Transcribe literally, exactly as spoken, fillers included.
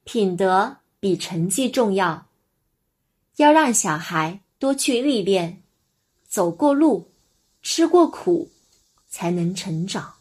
品德比成绩重要，要让小孩多去历练，走过路，吃过苦，才能成长。